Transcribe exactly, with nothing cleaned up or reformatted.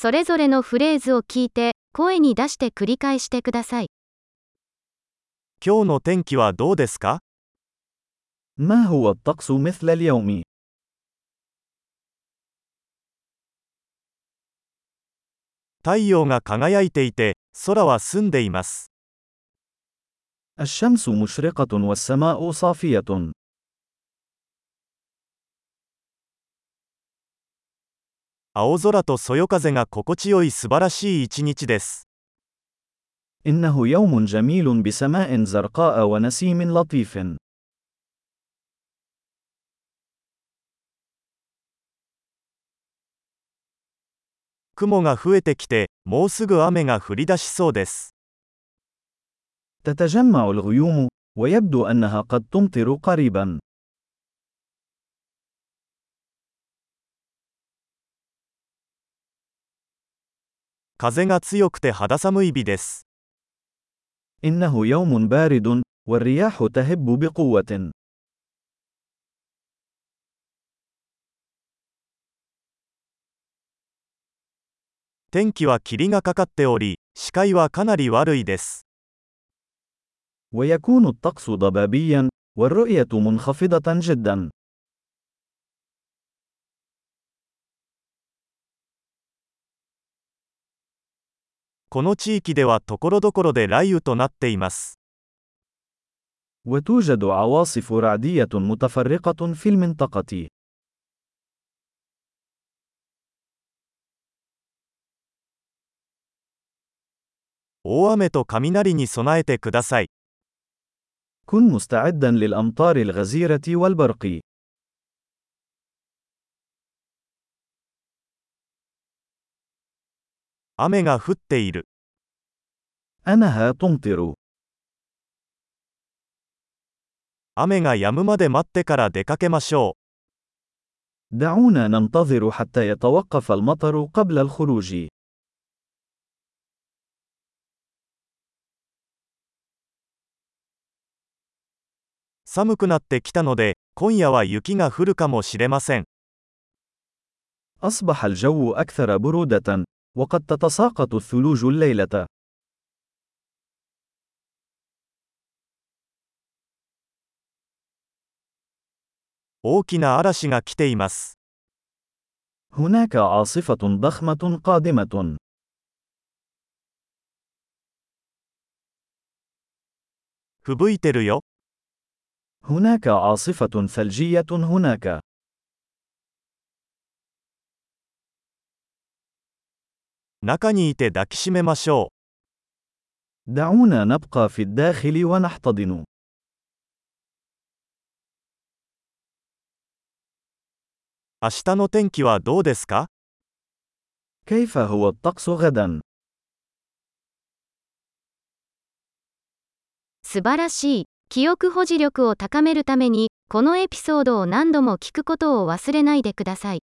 それぞれのフレーズを聞いて、声に出して繰り返してください。 今日の天気はどうですか？ ما هو الطقس مثل اليوم؟ 太陽が輝いていて、空は澄んでいます。 الشمس مشرقة والسماء صافية. 青空とそよ風が心地よい素晴らしい一日です。 إنه يوم جميل بسماء زرقاء ونسيم لطيف. 雲が増えてきて、もうすぐ雨が降り出しそうです。 تتجمع الغيوم، ويبدو أنها قد تمطر قريبا. 風が強くて肌寒い日です。 إنه يوم بارد، والرياح تهب بقوة. 天気は霧がかかっており、視界はかなり悪いです。 ويكون الطقس ضبابيا، والرؤية منخفضة جدا. この地域では所々で雷雨となっています。 وتوجد عواصف رعدية متفرقة في المنطقة. 大雨と雷に備えてください。 كن مستعدا للأمطار الغزيرة والبرق. 雨が降っている。 أنها تمطر. 雨が止むまで待ってから出かけましょう。 دعونا ننتظر حتى يتوقف المطر قبل الخروج. 寒くなってきたので、今夜は雪が降るかもしれません。 أصبح الجو أكثر برودة، وقد تتساقط الثلوج الليلة. 大きな嵐が来ています。 هناك عاصفة ضخمة قادمة. 吹雪いてるよ。 هناك عاصفة ثلجية هناك. 中にいて抱きしめましょう。 دعونا نبقى في الداخل ونحتضن. 明日の天気はどうですか？ كيف هو الطقس غدا؟ 素晴らしい。記憶保持力を高めるために、このエピソードを何度も聞くことを忘れないでください。